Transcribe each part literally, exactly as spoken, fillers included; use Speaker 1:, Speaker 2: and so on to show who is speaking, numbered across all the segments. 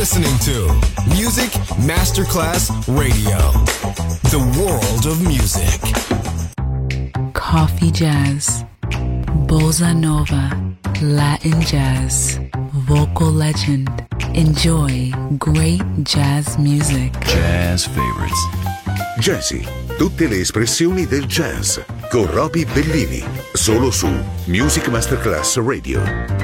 Speaker 1: listening to Music Masterclass Radio, the world of music.
Speaker 2: Coffee jazz, bossa nova, Latin jazz, vocal legend. Enjoy great jazz music.
Speaker 3: Jazz favorites.
Speaker 4: Jazzy, tutte le espressioni del jazz con Roby Bellini, solo su Music Masterclass Radio.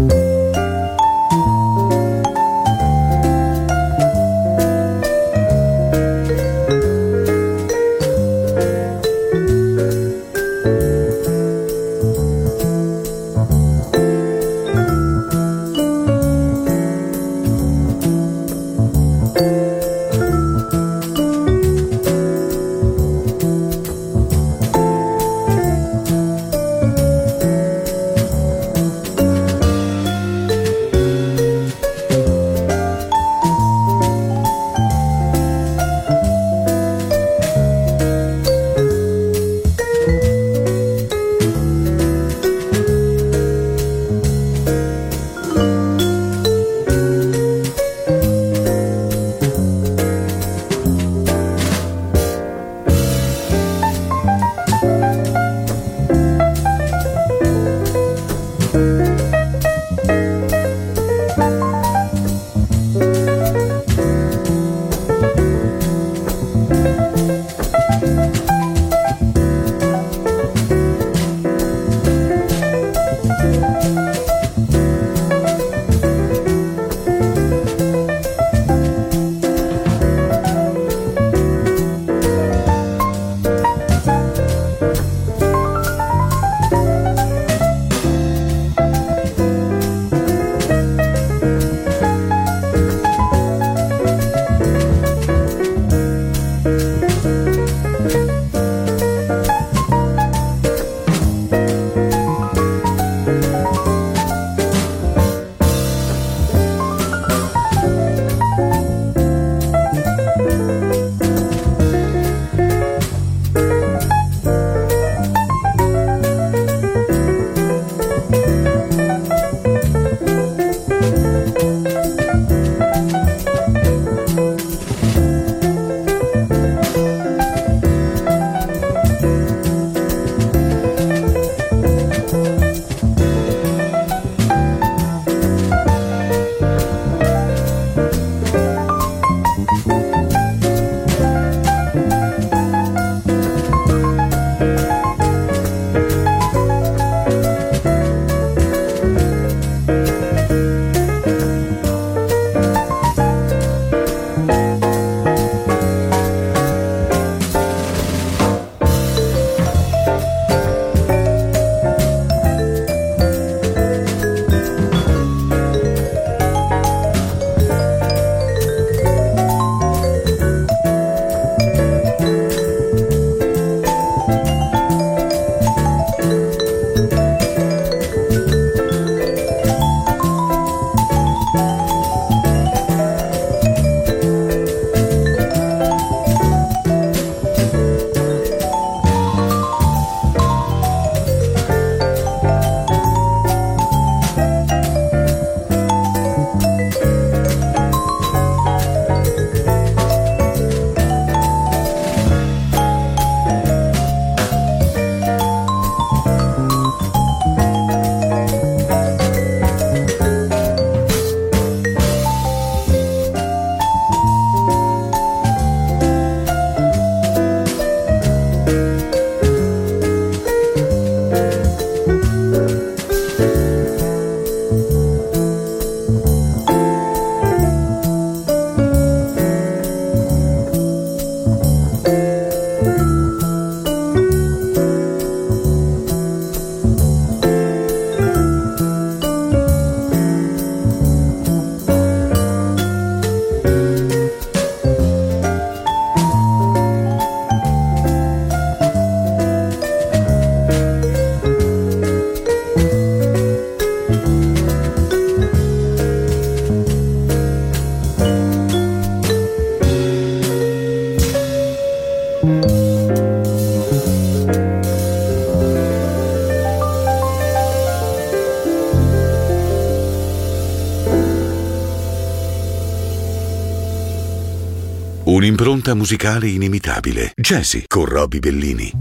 Speaker 4: Un'impronta musicale inimitabile. Jazzy con Robbie Bellini.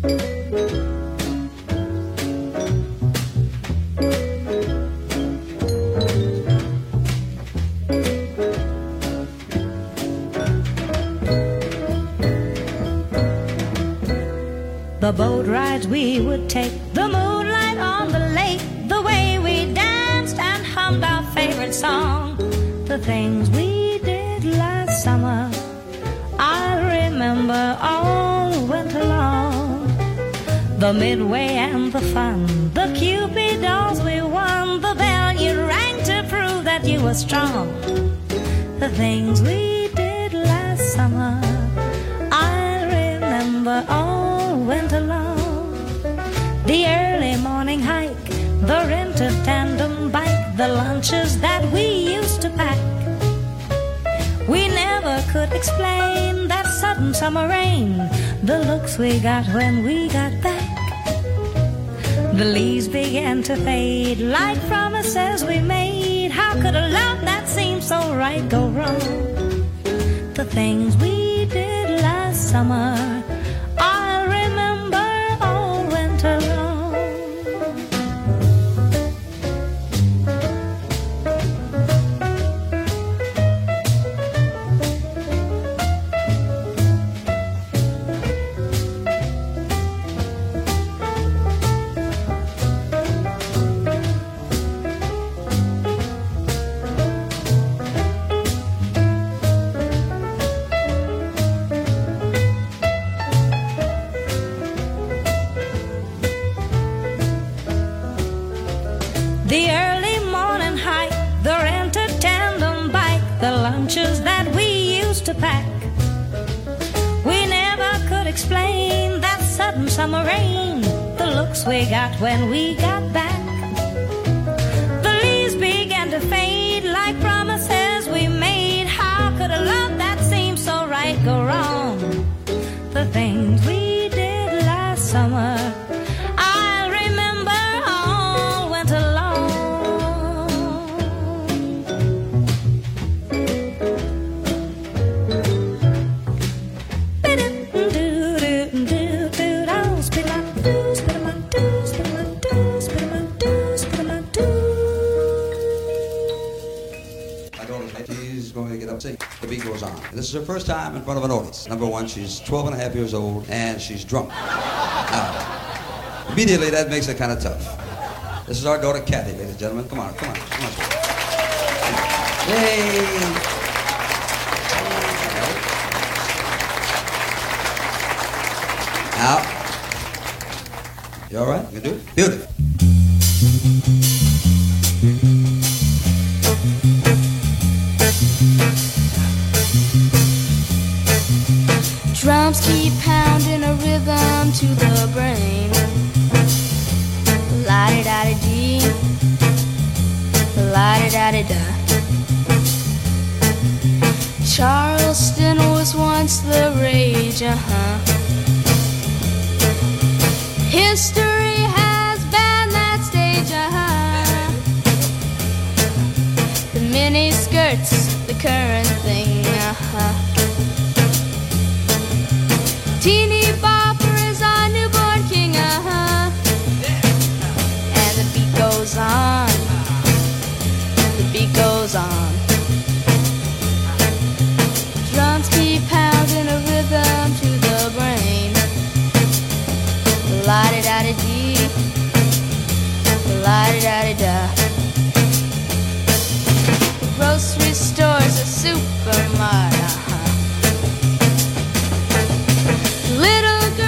Speaker 3: The boat rides we would take, the moonlight on the lake, the way we danced and song, the things we did last summer. I remember all winter long, the midway and the fun, the Cupid dolls we won, the bell you rang to prove that you were strong. The things we did last summer, I remember all winter long. The early morning hike, the rented tandem bike, the lunches that we used to pack. We never could explain that sudden summer rain, the looks we got when we got back. The leaves began to fade like promises we made. How could a love that seemed so right go wrong? The things we did last summer, I'll remember all winter long. The early morning hike, the rented tandem bike, the lunches that we used to pack. We never could explain that sudden summer rain, the looks we got when we got back. The leaves began to fade like promises we made. How could a love that seemed so right go wrong? The things we did last summer, I'll remember all winter long.
Speaker 5: She's going to get up and sing. The beat goes on. This is her first time in front of an audience. Number one, she's twelve and a half years old, and she's drunk. Now, immediately, that makes it kind of tough. This is our daughter, Kathy, ladies and gentlemen. Come on, come on, come on. Yay! Now, you all right? You can do it? Beautiful.
Speaker 6: Drums keep pounding a rhythm to the brain. La-di-da-di-dee, la-di-da-di-da. Charleston was once the rage, uh-huh. History has banned that stage, uh-huh. The mini skirts, the current thing, uh-huh. Teeny bopper is our newborn king, uh-huh. And the beat goes on, the beat goes on. Drums keep pounding a rhythm to the brain. La-di-da-di-dee, la-di-da-di-da. The grocery store's a supermart, uh-huh. Little girl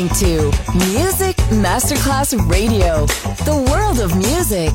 Speaker 7: listening to Music Masterclass Radio, the world of music.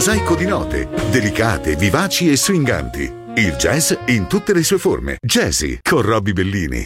Speaker 4: mosaico di note, delicate, vivaci e swinganti. Il jazz in tutte le sue forme. Jazzy con Robbie Bellini.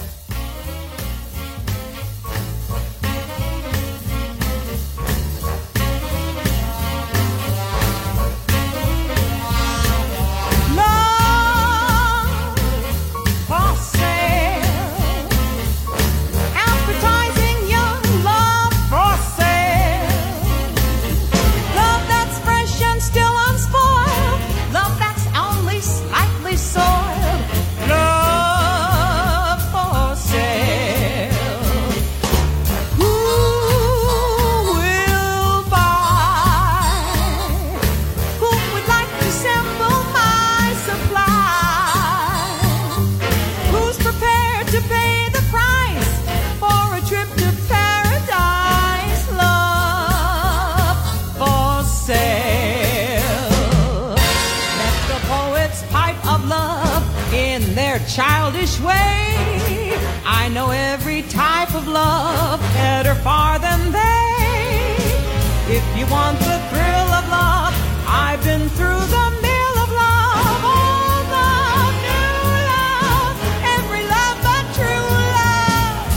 Speaker 8: Childish way, I know every type of love better far than they. If you want the thrill of love, I've been through the mill of love. All the new love, every love but true love,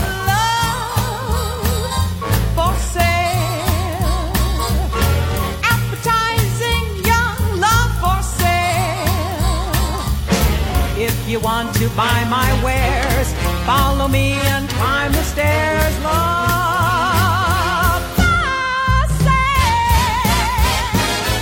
Speaker 8: love for sale. Appetizing young love for sale. If you want to buy my wares, follow me and climb the stairs, love for sale.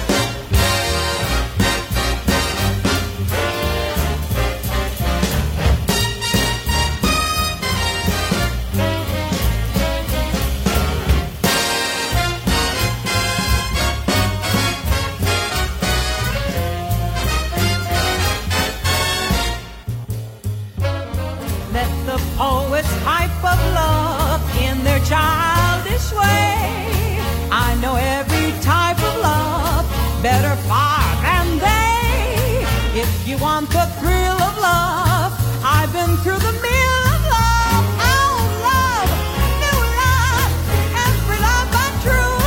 Speaker 8: Let the poets pipe of love in their childish way. I know every type of love better far than they. If you want the thrill of love, I've been through the mill of love. Oh, love, new love, every love but true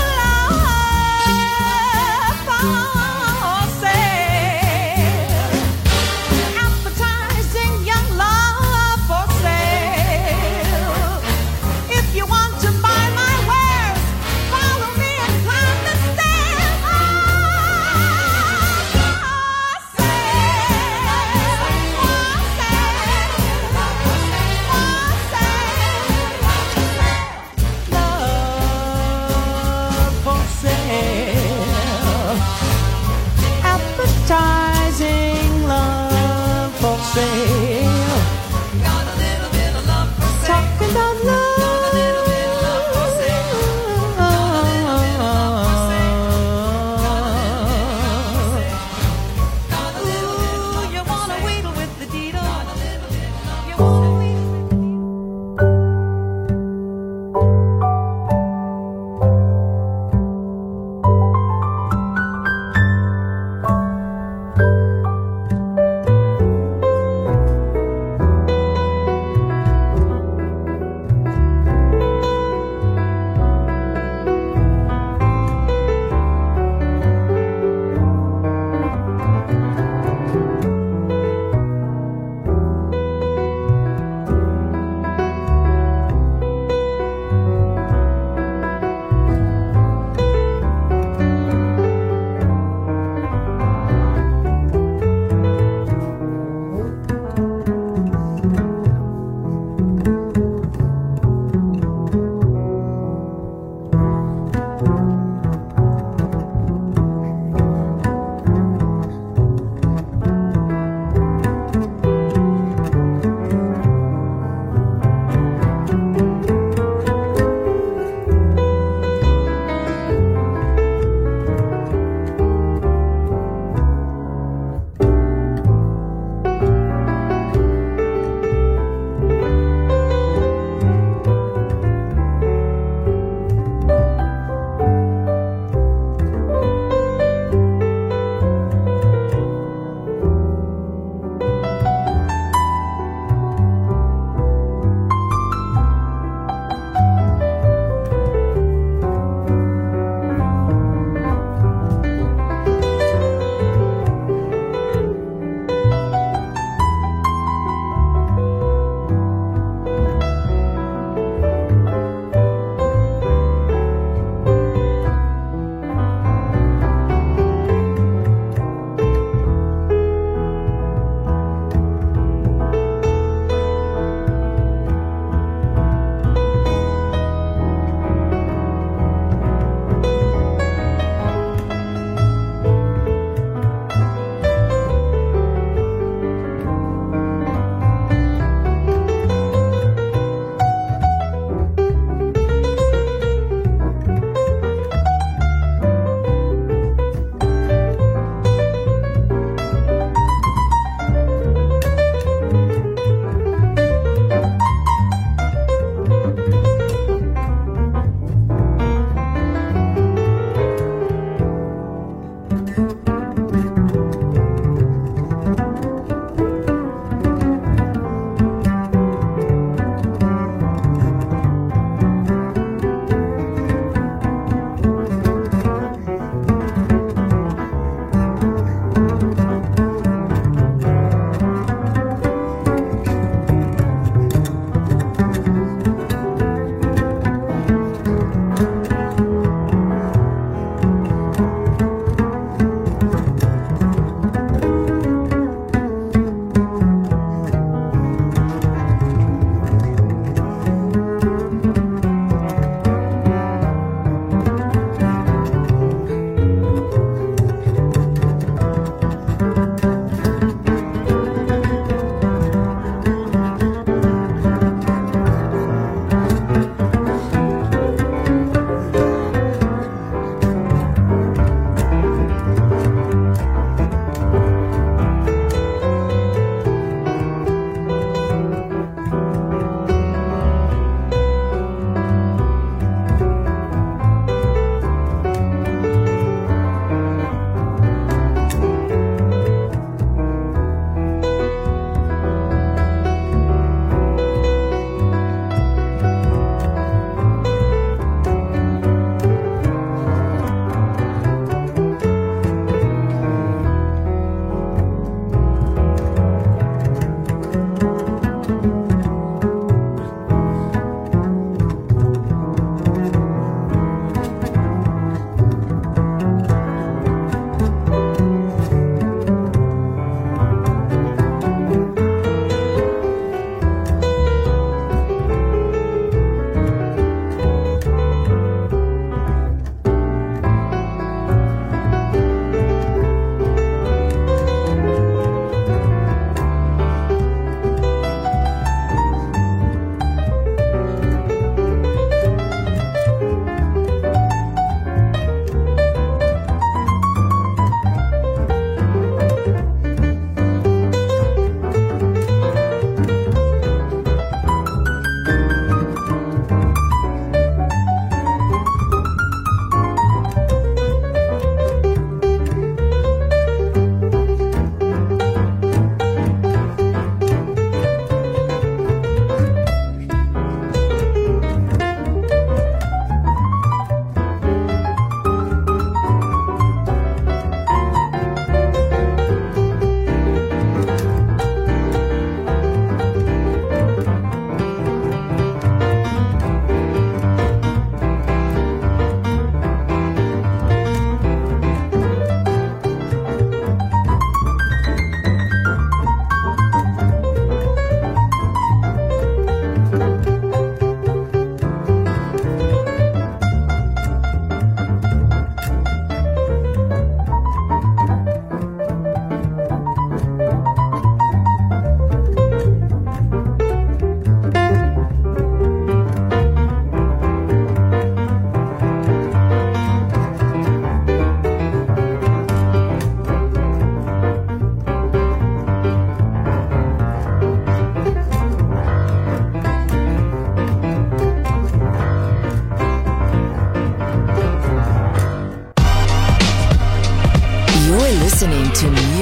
Speaker 8: love for sale. Appetizing young love for sale. If you want to buy my wares, follow me and climb the stairs. Oh, for sale.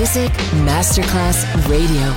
Speaker 7: Music Masterclass Radio.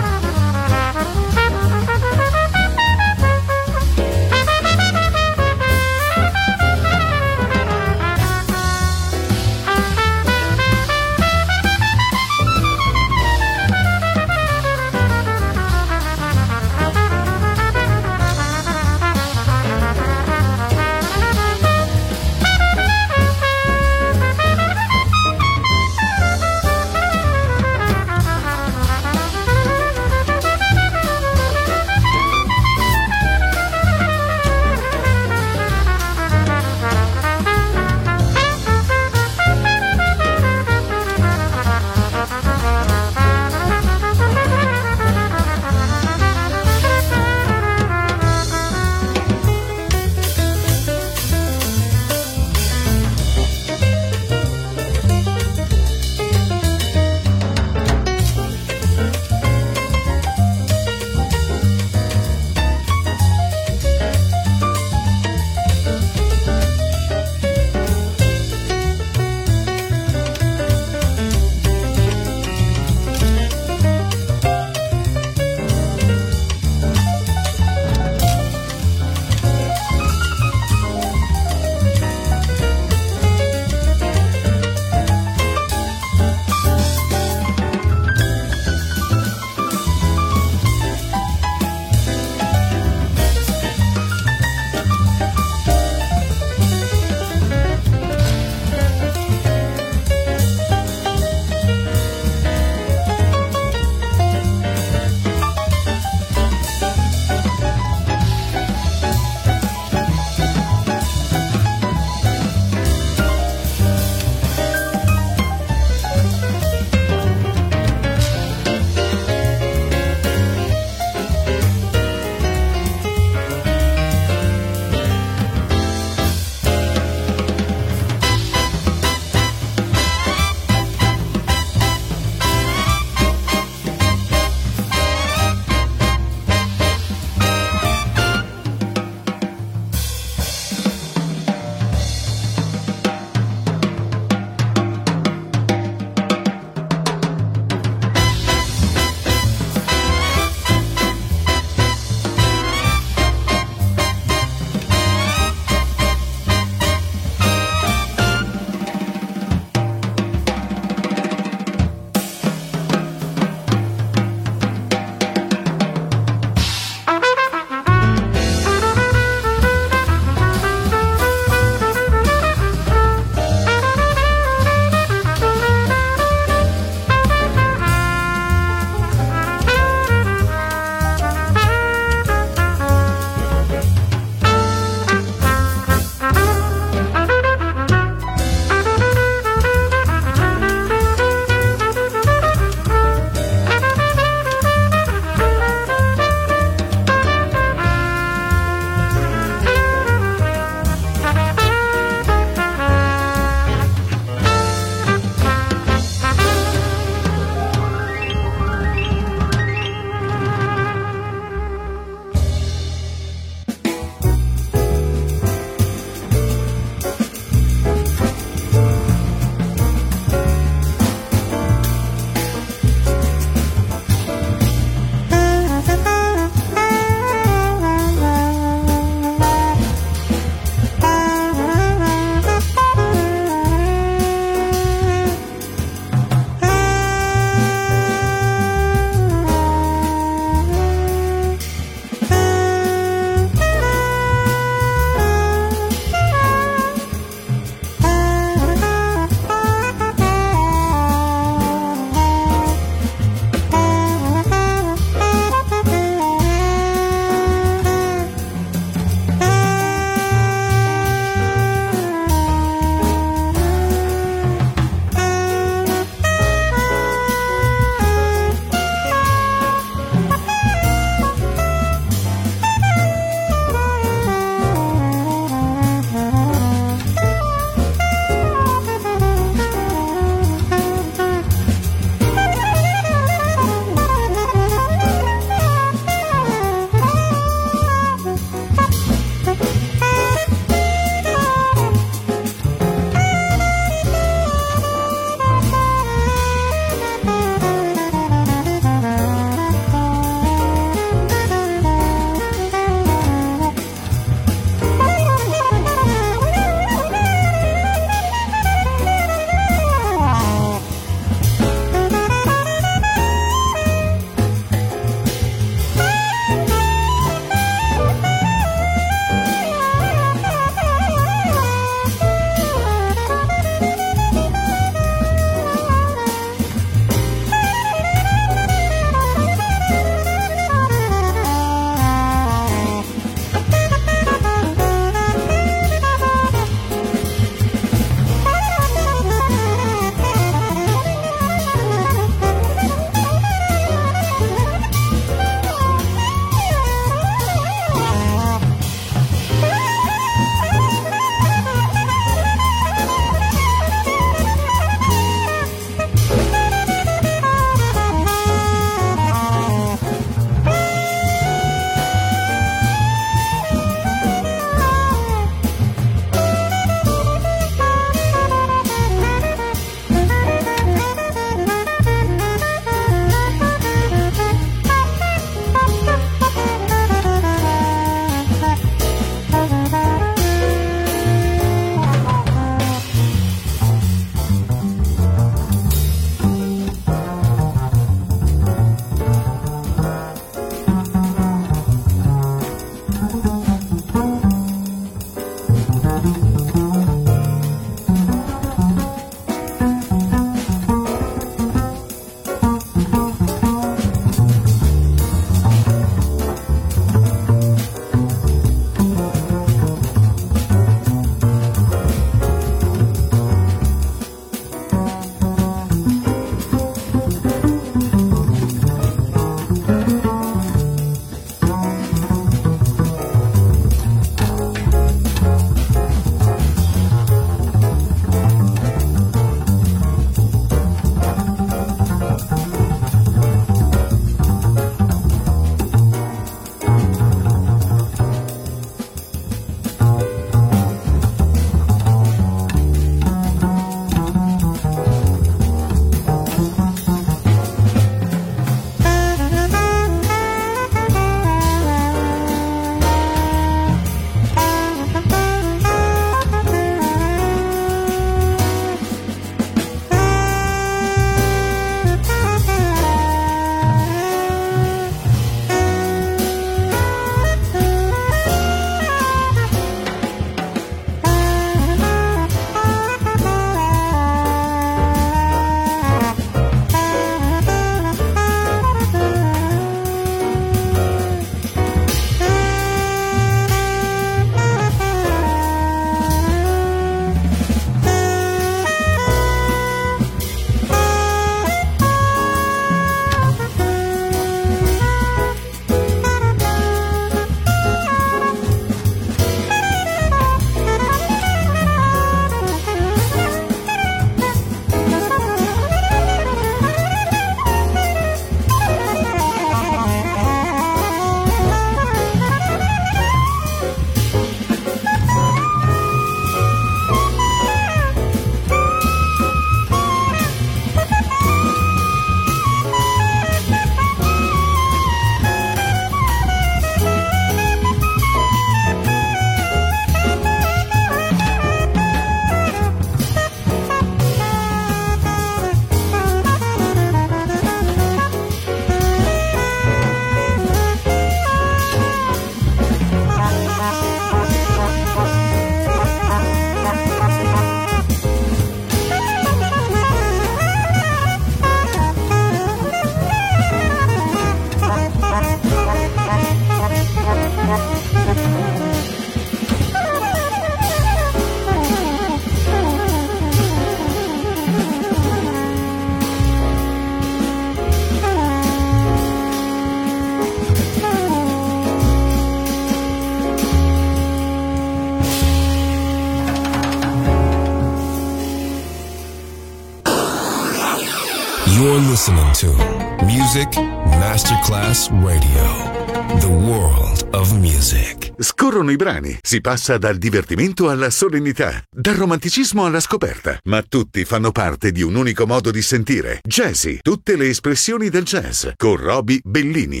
Speaker 1: You're listening to Music Masterclass Radio. The world of music.
Speaker 4: Scorrono i brani, si passa dal divertimento alla solennità, dal romanticismo alla scoperta, ma tutti fanno parte di un unico modo di sentire. Jazzy, tutte le espressioni del jazz, con Roby Bellini.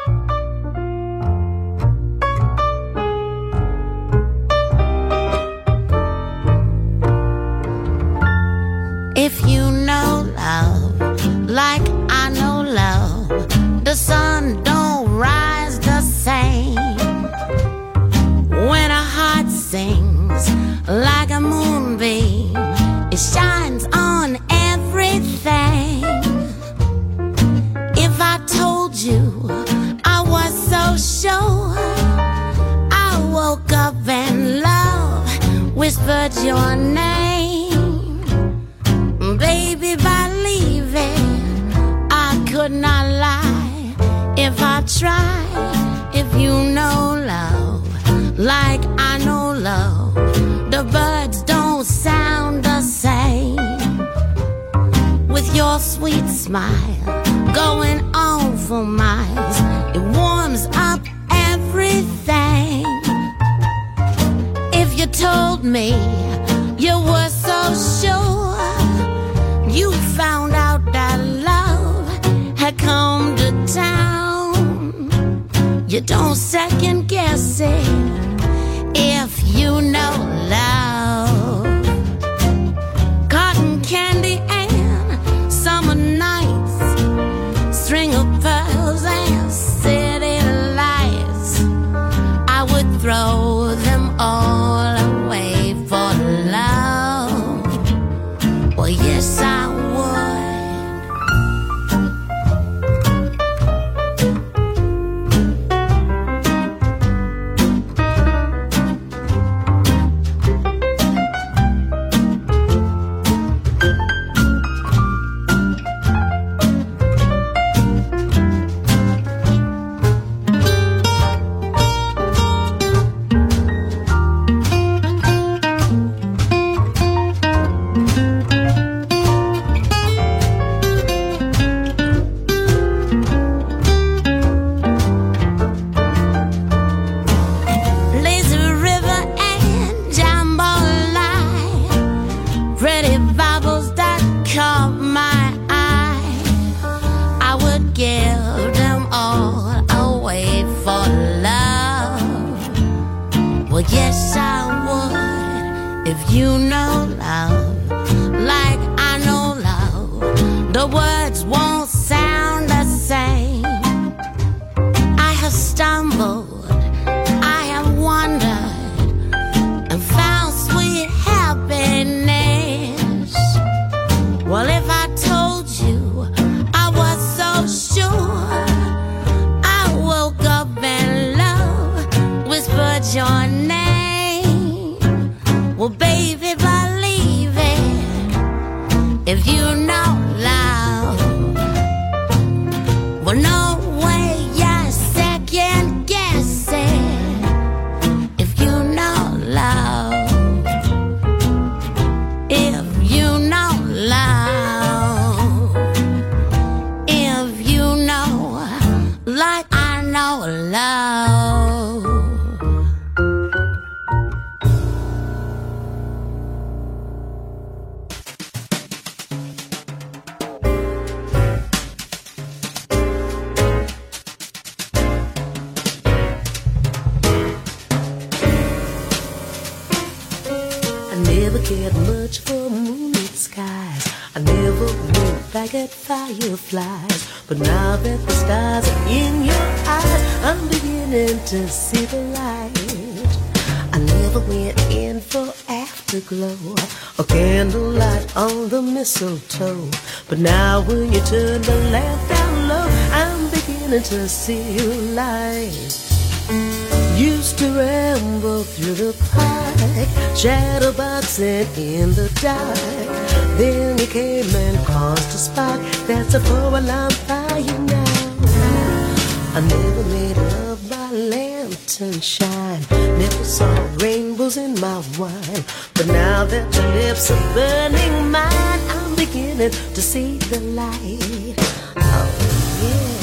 Speaker 9: If you know love, like I know love, the sun don't rise the same. When a heart sings like a moonbeam, it shines on everything. If I told you I was so sure, I woke up and love whispered your name. Baby, believe it, I could not lie if I tried. If you know love, like I know love, the birds don't sound the same. With your sweet smile going on for miles, it warms up everything. If you told me you were so sure, you found out that love had come to town. You don't second guess it if you know love. Cotton candy and summer nights, string of pearls and city lights, I would throw them all away for love. Well, yes, I
Speaker 10: fireflies, but now that the stars are in your eyes, I'm beginning to see the light. I never went in for afterglow or candlelight on the mistletoe, but now when you turn the lamp down low, I'm beginning to see your light. Used to ramble through the park, shadowboxing in the dark. Then you came and caused a spark. That's a four-alarm fire now. I never made love by lantern shine, never saw rainbows in my wine, but now that your lips are burning mine, I'm beginning to see the light. Oh, yeah.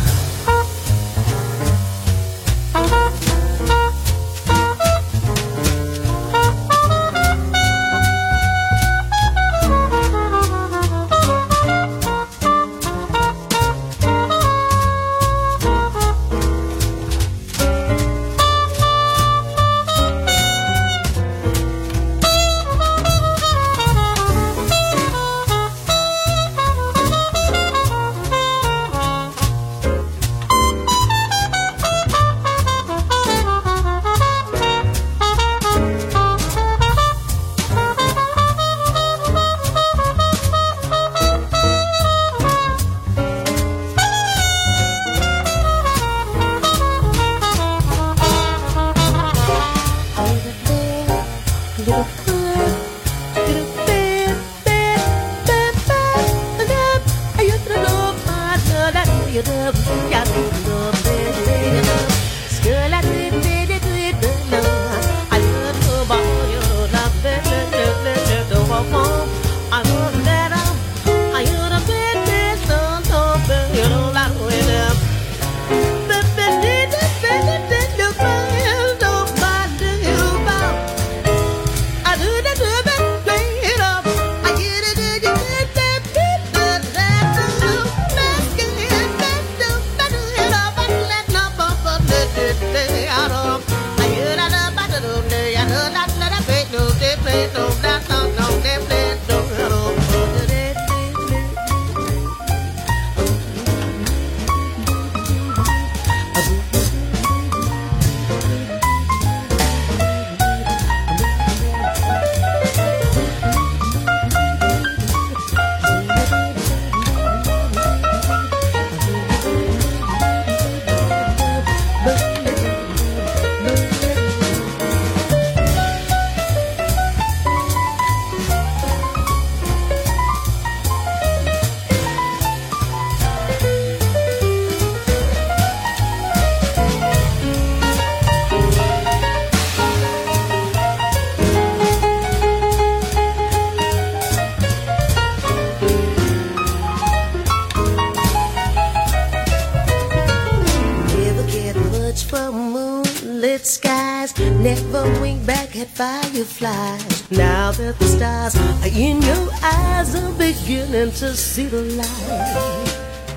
Speaker 10: Fireflies. Now that the stars are in your eyes, I'm beginning to see the light.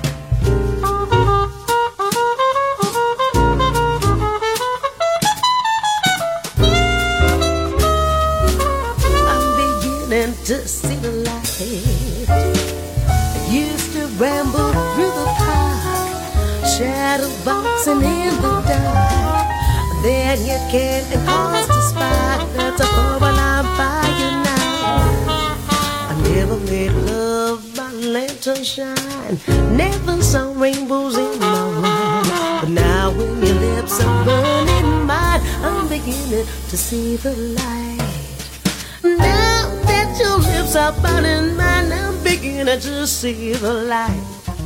Speaker 10: I'm beginning to see the light. I used to ramble through the park, shadow boxing in the dark. Then you came and caused a spark that's a bubble on fire now. I never made love by lantern shine, never saw rainbows in my wine. But now when your lips are burning mine, I'm beginning to see the light. Now that your lips are burning mine, I'm beginning to see the light.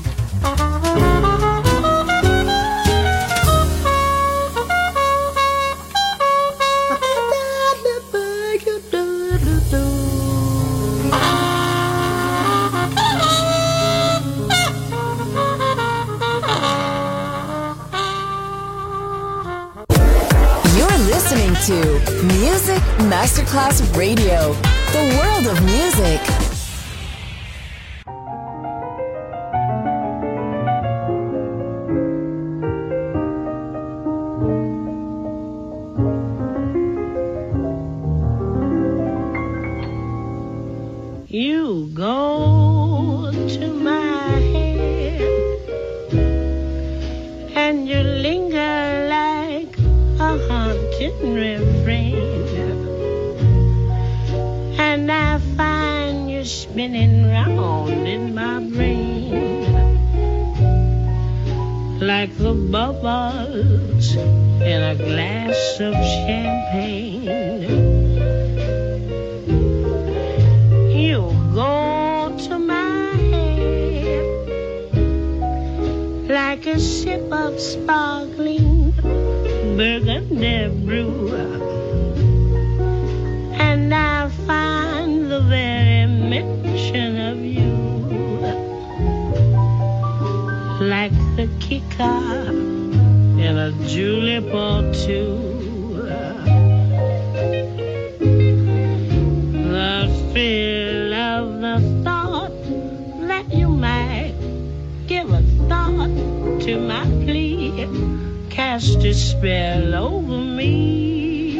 Speaker 7: Listening to Music Masterclass Radio, the world of music.
Speaker 11: You go to my head and you linger like a haunting refrain, and I find you spinning round in my brain like the bubbles in a glass of champagne. You go to my head like a sip of sparkling burgundy brew, and I find the very mention of you simple too. The thrill of the thought that you might give a thought to my plea cast a spell over me.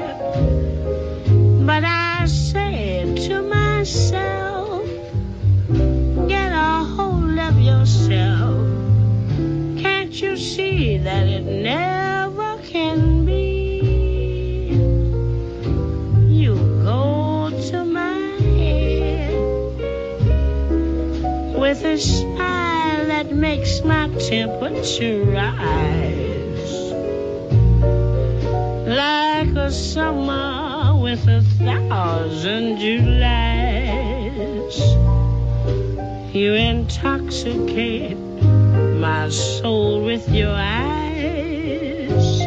Speaker 11: But I said to myself, get a hold of yourself. Can't you see that it never can be? You go to my head with a smile that makes my temperature rise, like a summer with a thousand Julys. You intoxicate my soul with your eyes,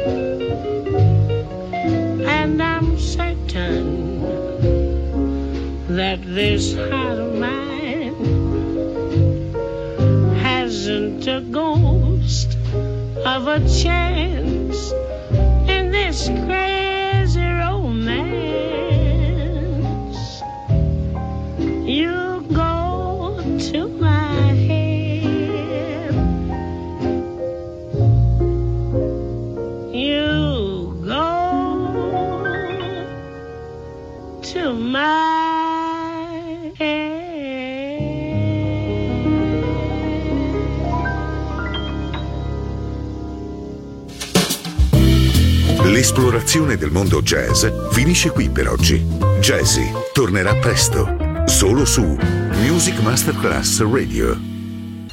Speaker 11: and I'm certain that this heart of mine hasn't a ghost of a chance in this crazy romance. You go to my head, you go to my head.
Speaker 4: L'esplorazione del mondo jazz finisce qui per oggi. Jazzy tornerà presto, solo su Music Masterclass Radio.